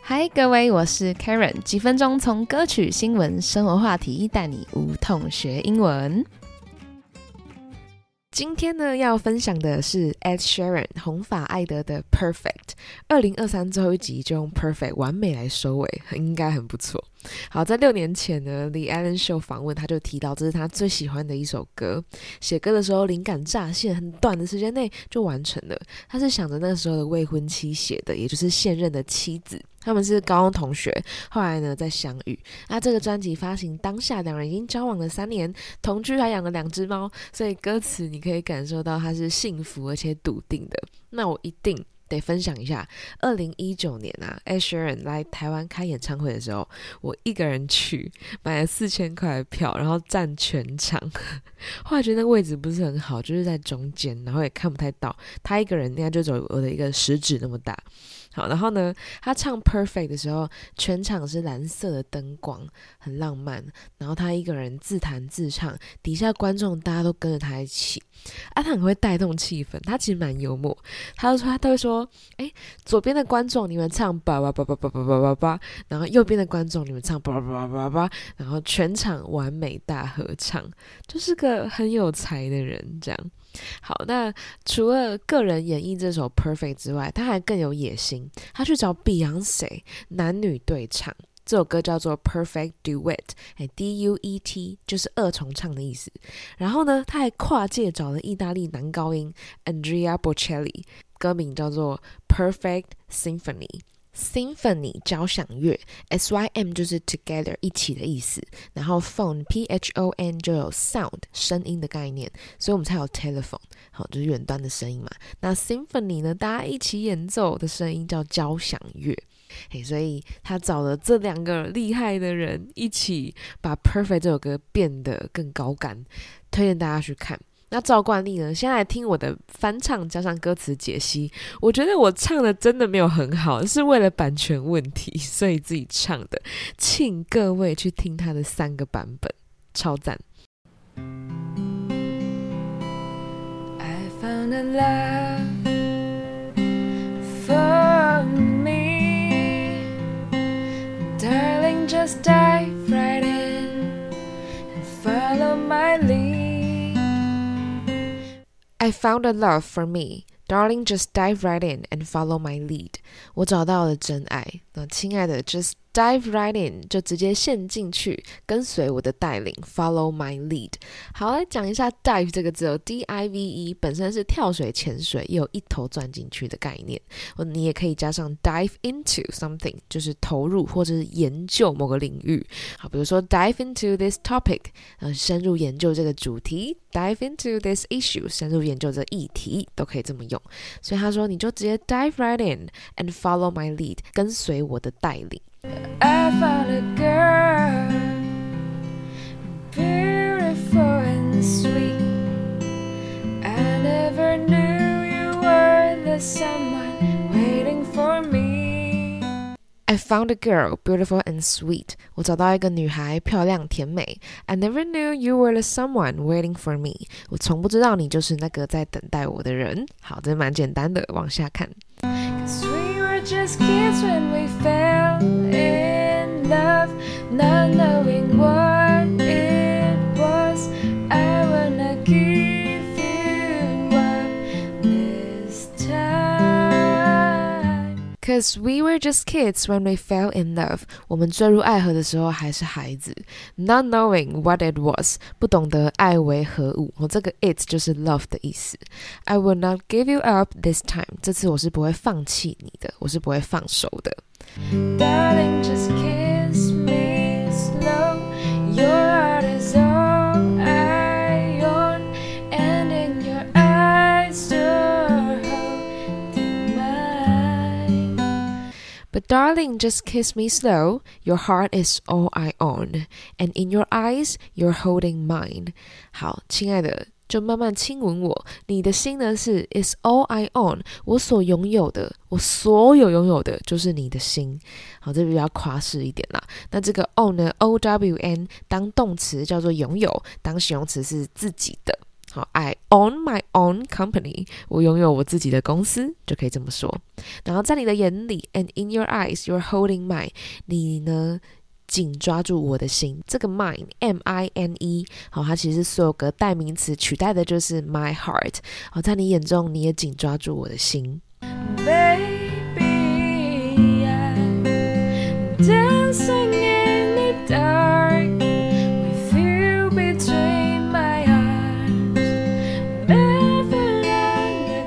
嗨，各位，我是 Karen， 几分钟从歌曲、新闻、生活话题带你无痛学英文。今天呢，要分享的是 Ed Sheeran 红发艾德的 Perfect。 2023最后一集就用 Perfect 完美来收尾，应该很不错。好，在6年前呢 The Ellen Show 访问他就提到这是他最喜欢的一首歌，写歌的时候灵感乍现，很短的时间内就完成了。他是想着那时候的未婚妻写的，也就是现任的妻子，他们是高中同学，后来呢再相遇。那这个专辑发行当下，两人已经交往了3年，同居还养了2只猫，所以歌词你可以感受到他是幸福而且笃定的。那我一定得分享一下2019年啊 Ed Sheeran 来台湾开演唱会的时候，我一个人去买了4000块的票，然后站全场后来觉得那位置不是很好，就是在中间，然后也看不太到，他一个人应该就走我的一个食指那么大。好，然后呢他唱 Perfect 的时候，全场是蓝色的灯光，很浪漫，然后他一个人自弹自唱，底下观众大家都跟着他一起他很会带动气氛，他其实蛮幽默。他都会说左边的观众你们唱吧吧吧吧吧吧吧吧，然后右边的观众你们唱吧吧吧吧吧，然后全场完美大合唱，就是个很有才的人这样。好，那除了个人演绎这首 Perfect 之外，他还更有野心，他去找 Beyoncé 男女对唱，这首歌叫做 Perfect Duet， D-U-E-T 就是二重唱的意思。然后呢他还跨界找了意大利男高音 Andrea Bocelli， 歌名叫做 Perfect Symphony，Symphony 交响乐， S-Y-M 就是 together 一起的意思，然后 phone P-H-O-N 就有 sound 声音的概念，所以我们才有 telephone， 好，就是远端的声音嘛。那 symphony 呢，大家一起演奏的声音叫交响乐。所以他找了这2个厉害的人一起把 Perfect 这首歌变得更高干，推荐大家去看。那照惯例呢，先来听我的翻唱加上歌词解析。我觉得我唱的真的没有很好，是为了版权问题所以自己唱的，请各位去听他的3个版本，超赞。 I found a love for me, darling, just dive right in and follow my lead.I found a love for me, darling, just dive right in and follow my lead. 我找到了真爱，那亲爱的 just dive right in 就直接陷进去，跟随我的带领 follow my lead。 好，来讲一下 dive 这个字D-I-V-E 本身是跳水潜水，也有一头钻进去的概念，你也可以加上 dive into something 就是投入或者是研究某个领域。好，比如说 dive into this topic 深入研究这个主题， dive into this issue 深入研究这议题，都可以这么用。所以他说你就直接 dive right in and follow my lead 跟随我的带领。 I found a girl, beautiful and sweet. I never knew you were the someone waiting for me. I found a girl, beautiful and sweet. 我找到一个女孩，漂亮甜美。I never knew you were the someone waiting for me. 我从不知道你就是那个在等待我的人。好，这蛮简单的，往下看。 'Cause we were just kids when we fell in love, not knowing what it was. I wanna give you up this time. 'Cause we were just kids when we fell in love. 我们坠入爱河的时候还是孩子。Not knowing what it was. 不懂得爱为何物。这个 it 就是 love 的意思。I will not give you up this time. 这次我是不会放弃你的，我是不会放手的。 Darling, just kiss me slow. Your heart is all I own, and in your eyes you're holding mine. But darling, just kiss me slow. Your heart is all I own, and in your eyes you're holding mine. 好，亲爱的，就慢慢亲吻我，你的心呢是 is all I own， 我所拥有的，我所有拥有的就是你的心。好，这比较夸饰一点啦。那这个 own 呢 O-W-N 当动词叫做拥有，当形容词是自己的。 好 I own my own company， 我拥有我自己的公司，就可以这么说。然后在你的眼里 and in your eyes you're holding mine， 你呢紧抓住我的心。这个 mine M-I-N-E， 好，它其实是所有个代名词取代的就是 my heart。好，在你眼中你也紧抓住我的心。 Baby, I'm dancing in the dark with you between my arms, barefoot on the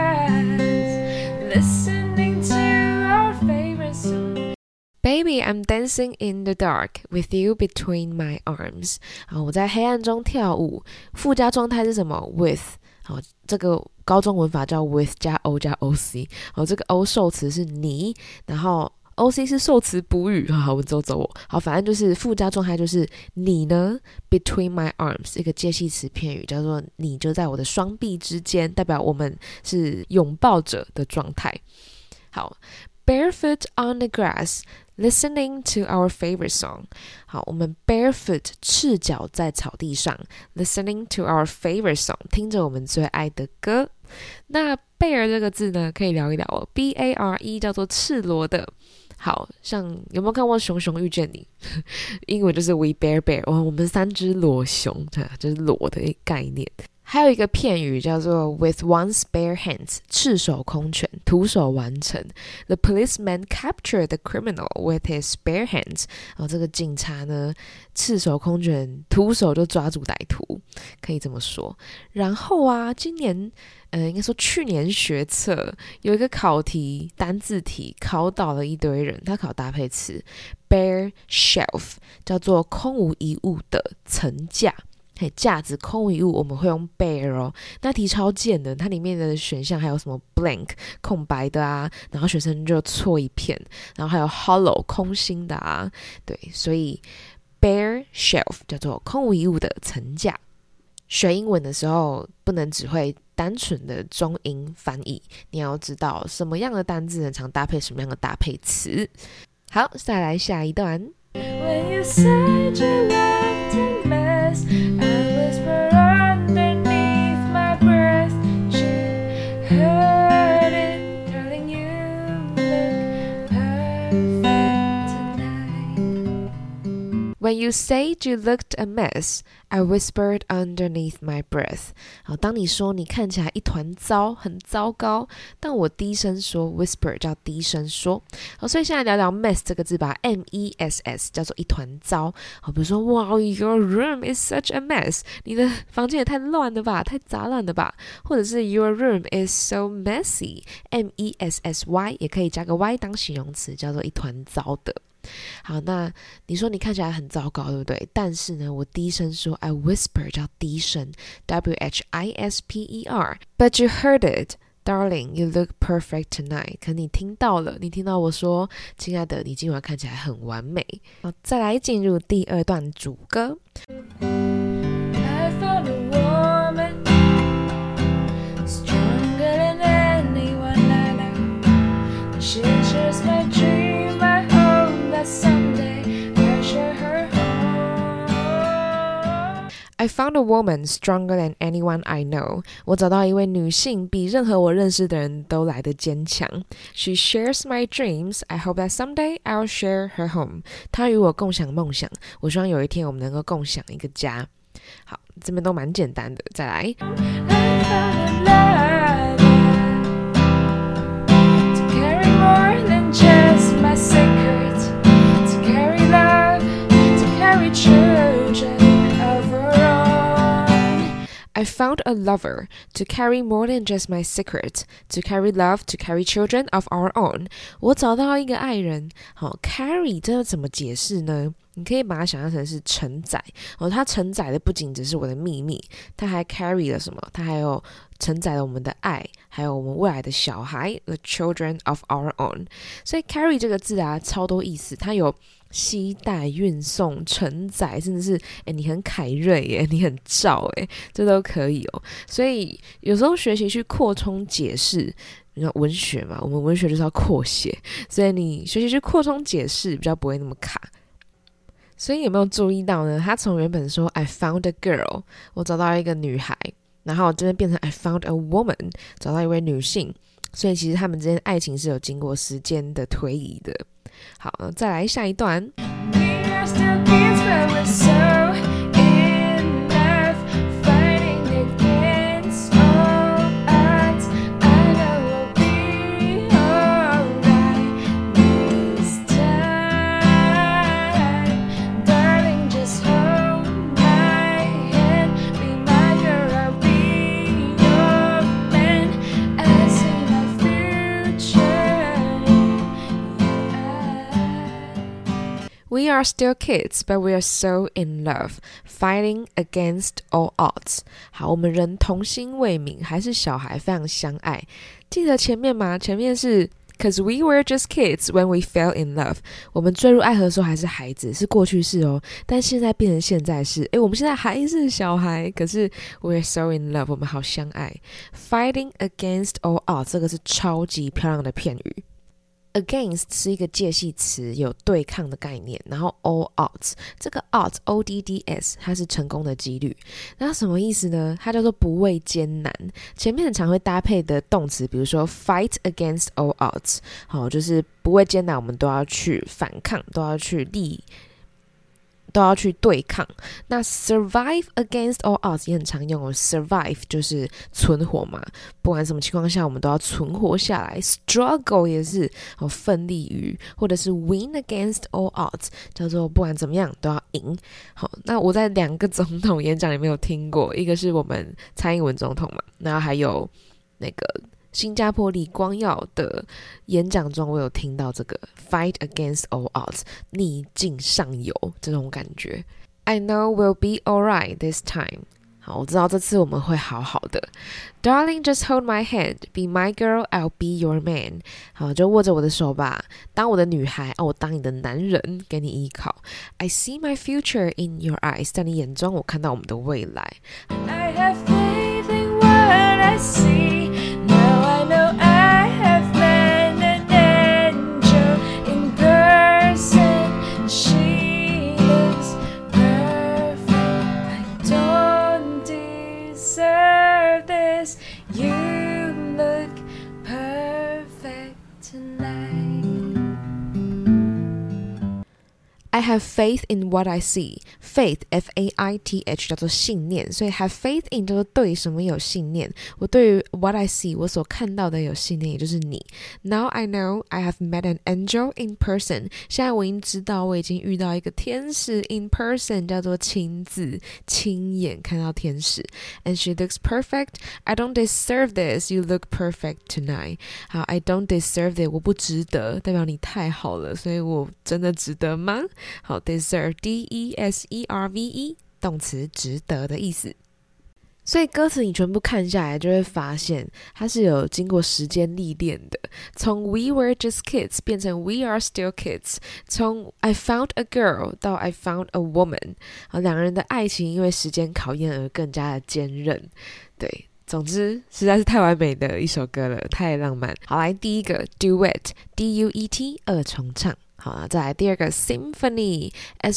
grass, listening to our favorite song. Baby, I'm dancing in the dark with you between my arms。好，我在黑暗中跳舞。附加状态是什么 ？with。好，这个高中文法叫 with 加 o 加 oc。好，这个 o 受词是你，然后 oc 是受词补语。好，文绉绉。好，反正就是附加状态就是你呢 between my arms， 一个介系词片语叫做你就在我的双臂之间，代表我们是拥抱着的状态。好。Barefoot on the grass, listening to our favorite song。 好，我们 barefoot 赤脚在草地上 listening to our favorite song， 听着我们最爱的歌。那 bare 这个字呢，可以聊一聊哦。B-A-R-E 叫做赤裸的。好像有没有看过《熊熊遇见你》？英文就是 We Bare Bear， 我们三只裸熊，就是裸的一个概念。还有一个片语叫做 with one's bare hands， 赤手空拳，徒手完成。The policeman captured the criminal with his bare hands。这个警察呢，赤手空拳，徒手就抓住歹徒，可以这么说。然后啊，今年应该说去年学测有一个考题，单字题，考倒了一堆人。他考搭配词 bare shelf， 叫做空无一物的层架。架子空无一物我们会用 bare 哦。那题超贱的，它里面的选项还有什么 blank 空白的啊，然后学生就错一片，然后还有 hollow 空心的啊。对，所以 bare shelf 叫做空无一物的层架。学英文的时候不能只会单纯的中英翻译，你要知道什么样的单字很常搭配什么样的搭配词。好，再来下一段。 When you said you left a mess, I whispered underneath my breath. She heard it, darling, you look perfect tonight. When you said you looked a mess, I whispered underneath my breath。 好，当你说你看起来一团糟，很糟糕，但我低声说 whisper 叫低声说。好，所以现在聊聊 mess 这个字吧， M-E-S-S 叫做一团糟。好，比如说 Wow, your room is such a mess， 你的房间也太乱了吧，太杂乱了吧。或者是 Your room is so messy， M-E-S-S-Y 也可以加个 Y 当形容词，叫做一团糟的。好，那你说你看起来很糟糕，对不对？但是呢，我低声说 I whisper 叫低声 W-H-I-S-P-E-R But you heard it Darling, you look perfect tonight。 可你听到了，你听到我说亲爱的，你今晚看起来很完美。好，再来进入第二段主歌。 I found a woman stronger than anyone I know. She shares my dream, I hope that someday I'll share her home. I found a woman stronger than anyone I know。 我找到一位女性比任何我认识的人都来得坚强。 She shares my dreams, I hope that someday I'll share her home。 她与我共享梦想，我希望有一天我们能够共享一个家。好，这边都蛮简单的，再来。 I found a lover to carry more than just my secret, to carry love, to carry children of her own. I found a lover to carry more than just my secret, to carry love, to carry children of our own。 我找到一个爱人。好 ，carry 这要怎么解释呢？你可以把它想象成是承载。它承载的不仅只是我的秘密，它还 carry 了什么？它还有承载了我们的爱，还有我们未来的小孩 ，the children of our own。所以 carry 这个字啊，超多意思，它有携带、运送、承载，甚至是你很凯瑞耶，你很照耶，这都可以哦。所以有时候学习去扩充解释。你看文学嘛，我们文学就是要扩写，所以你学习去扩充解释，比较不会那么卡。所以有没有注意到呢？他从原本说 I found a girl， 我找到一个女孩， 然后这边变成 I found a woman， 找到一位女性，所以其实他们之间爱情是有经过时间的推移的。好，再来下一段。 We are still kids, but we're so in love, fighting against all odds. I know we'll be alright this time. Darling, just hold my hand. Be my girl, I'll be your man. I see my future. We are still kids, but we are so in love, fighting against all odds. 好，我们人童心未泯，还是小孩，非常相爱。记得前面吗？前面是 Cause we were just kids when we fell in love. 我们坠入爱河的时候还是孩子，是过去式哦。但现在变成现在式，我们现在还是小孩，可是 we're so in love， 我们好相爱。Fighting against all odds， 这个是超级漂亮的片语。Against 是一个介系词，有对抗的概念，然后 all odds， 这个 odds odds 它是成功的几率。那什么意思呢？它叫做不畏艰难，前面很常会搭配的动词，比如说 fight against all odds， 好，就是不畏艰难，我们都要去反抗，都要去对抗。那 survive against all odds 也很常用哦， survive 就是存活嘛，不管什么情况下我们都要存活下来。 struggle 也是奋力于，或者是 win against all odds 叫做不管怎么样都要赢。好，那我在2个总统演讲里面有听过，一个是我们蔡英文总统嘛，然后还有那个新加坡李光耀的演讲中，我有听到这个 fight against all odds， 逆境上游这种感觉。I know we'll be alright this time。 好，我知道这次我们会好好的。Darling, just hold my hand. Be my girl, I'll be your man. 好，就握着我的手吧，当我的女孩，我当你的男人，给你依靠。I see my future in your eyes. 在你眼中，我看到我们的未来。 I have faith in what I see. Now I know I have met an angel in person. She looks perfect. I don't deserve this. You look perfect tonight. I have faith in what I see. Faith, F-A-I-T-H 叫做信念，所以 have faith in 叫做对什么有信念。我对于 what I see 我所看到的有信念，也就是你。Now I know I have met an angel in person. 现在我已经知道我已经遇到一个天使 in person， 叫做亲自亲眼看到天使。And she looks perfect. I don't deserve this. You look perfect tonight. 好 I don't deserve it. 我不值得，代表你太好了，所以我真的值得吗？好 deserve D-E-S-E-R-V-E 动词值得的意思。所以歌词你全部看下来就会发现它是有经过时间历练的，从 We were just kids 变成 We are still kids， 从 I found a girl 到 I found a woman， 两个人的爱情因为时间考验而更加的坚韧。对，总之实在是太完美的一首歌了，太浪漫。好，来第一个 Duet D-U-E-T 二重唱。好了，再来第二个 Symphony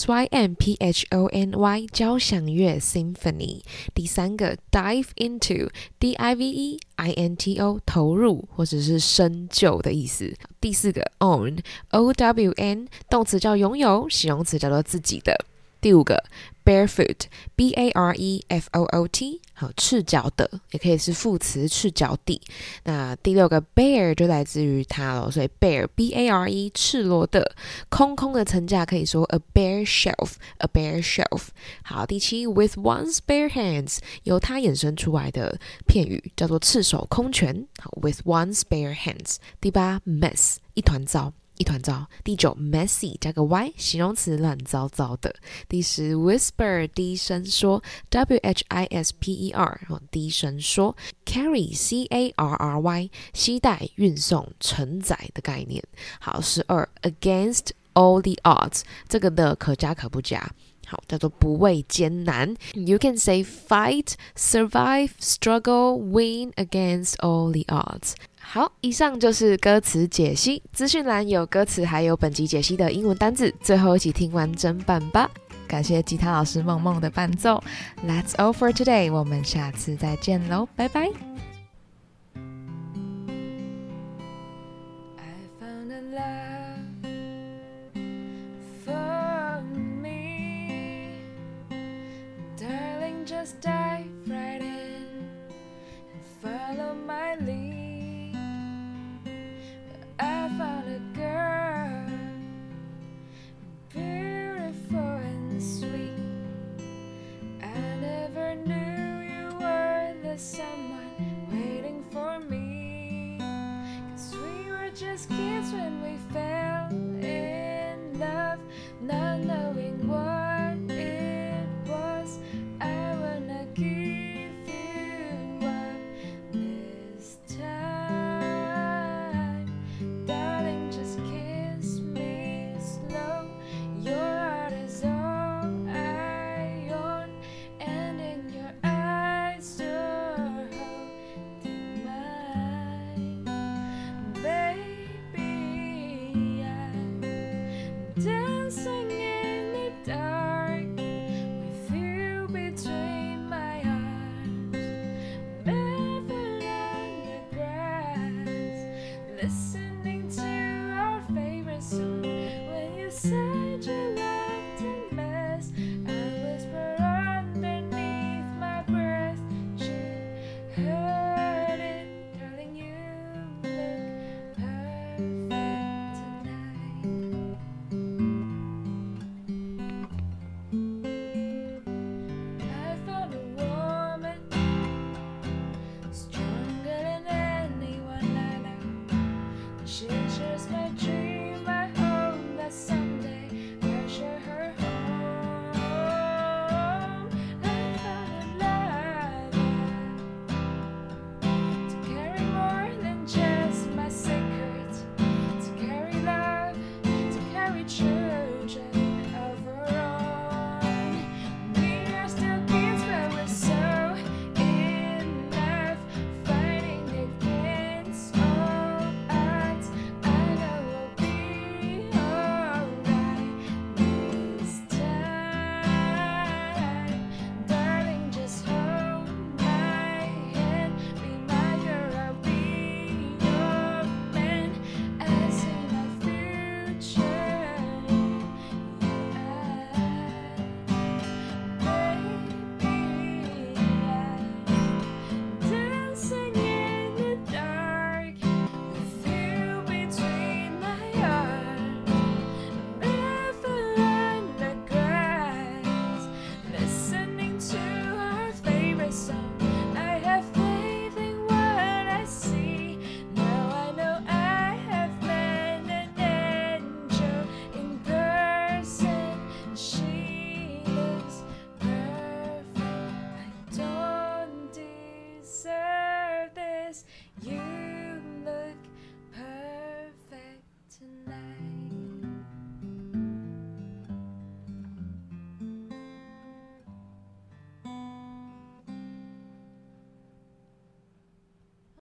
S-Y-M-P-H-O-N-Y 交响乐 Symphony。第三个 Dive Into D-I-V-E-I-N-T-O 投入或者是深究的意思。第四个 Own O-W-N 动词叫拥有，形容词叫做自己的。第五个 Barefoot B-A-R-E-F-O-O-T 好，赤脚的也可以是副词赤脚地。那第六个 Bare 就来自于它咯，所以 Bare B-A-R-E 赤裸的，空空的层架可以说 a bare shelf a bare shelf。 好，第七 With one's bare hands 由它衍生出来的片语叫做赤手空拳。好 With one's bare hands。 第八 Mess 一团糟一团糟。第九 messy 加个 y 形容词乱糟糟的。第十 whisper 低声说 W-H-I-S-P-E-R 低声说。 carry C-A-R-R-Y 携带运送承载的概念。好，12 against all the odds 这个的可加可不加，好，叫做不畏艰难。 You can say fight, survive, struggle, win against all the odds。好，以上就是歌词解析，资讯栏有歌词还有本集解析的英文单字，最后一起听完整版吧。 感谢吉他老师梦梦的伴奏。 That's all for today， 我们下次再见喽，拜拜。 Just dive right in and follow my lead. I found a girl, beautiful and sweet. I never knew you were the someone waiting for me. 'Cause we were just kids when we fell in love, not knowing what it was. I wanna give you up this time. Darling, just kiss me slow. Your heart is all I own, and in your eyes you're holding mine. Baby, I'm dancing in the dark with you between my arms, barefoot on the grass, listening to our favorite song. When you said you loved a mess, I whispered underneath my breath. She heard it, darling, you look perfect tonight. I found a woman stronger than anyone I know. She shares my